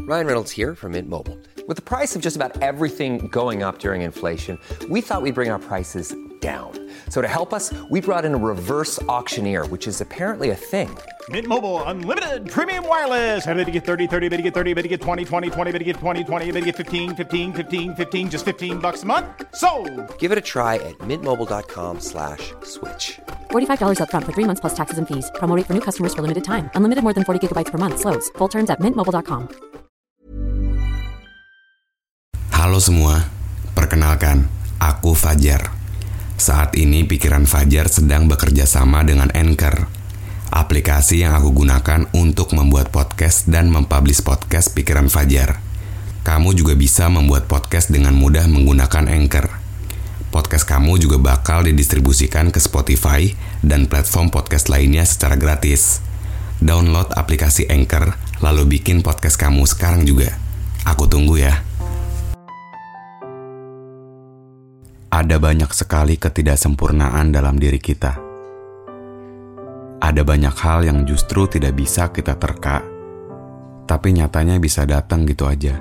Ryan Reynolds here from Mint Mobile. With the price of just about everything going up during inflation, we thought we'd bring our prices down. So to help us, we brought in a reverse auctioneer, which is apparently a thing. Mint Mobile Unlimited Premium Wireless. How to get 30, 30, how to get 30, how to get 20, 20, 20, how to get 20, 20, how to get 15, 15, 15, 15, just $15 a month? Sold! Give it a try at mintmobile.com/switch. $45 up front for 3 months plus taxes and fees. Promo rate for new customers for limited time. Unlimited more than 40 gigabytes per month. Slows full terms at mintmobile.com. Halo semua, perkenalkan, aku Fajar. Saat ini pikiran Fajar sedang bekerja sama dengan Anchor, aplikasi yang aku gunakan untuk membuat podcast dan mempublish podcast pikiran Fajar. Kamu juga bisa membuat podcast dengan mudah menggunakan Anchor. Podcast kamu juga bakal didistribusikan ke Spotify dan platform podcast lainnya secara gratis. Download aplikasi Anchor, lalu bikin podcast kamu sekarang juga. Aku tunggu ya. Ada banyak sekali ketidaksempurnaan dalam diri kita. Ada banyak hal yang justru tidak bisa kita terka, tapi nyatanya bisa datang gitu aja.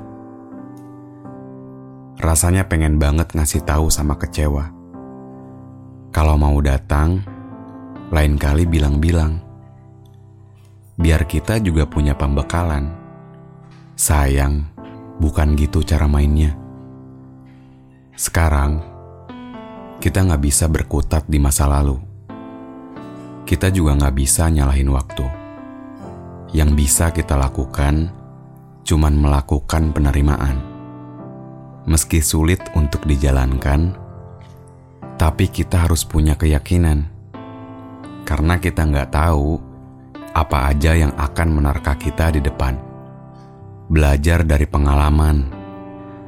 Rasanya pengen banget ngasih tahu sama kecewa. Kalau mau datang, lain kali bilang-bilang. Biar kita juga punya pembekalan. Sayang, bukan gitu cara mainnya. Sekarang, kita gak bisa berkutat di masa lalu. Kita juga gak bisa nyalahin waktu. Yang bisa kita lakukan, cuman melakukan penerimaan. Meski sulit untuk dijalankan, tapi kita harus punya keyakinan. Karena kita gak tahu apa aja yang akan menerka kita di depan. Belajar dari pengalaman,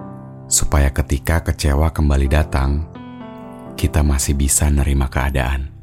supaya ketika kecewa kembali datang, kita masih bisa nerima keadaan.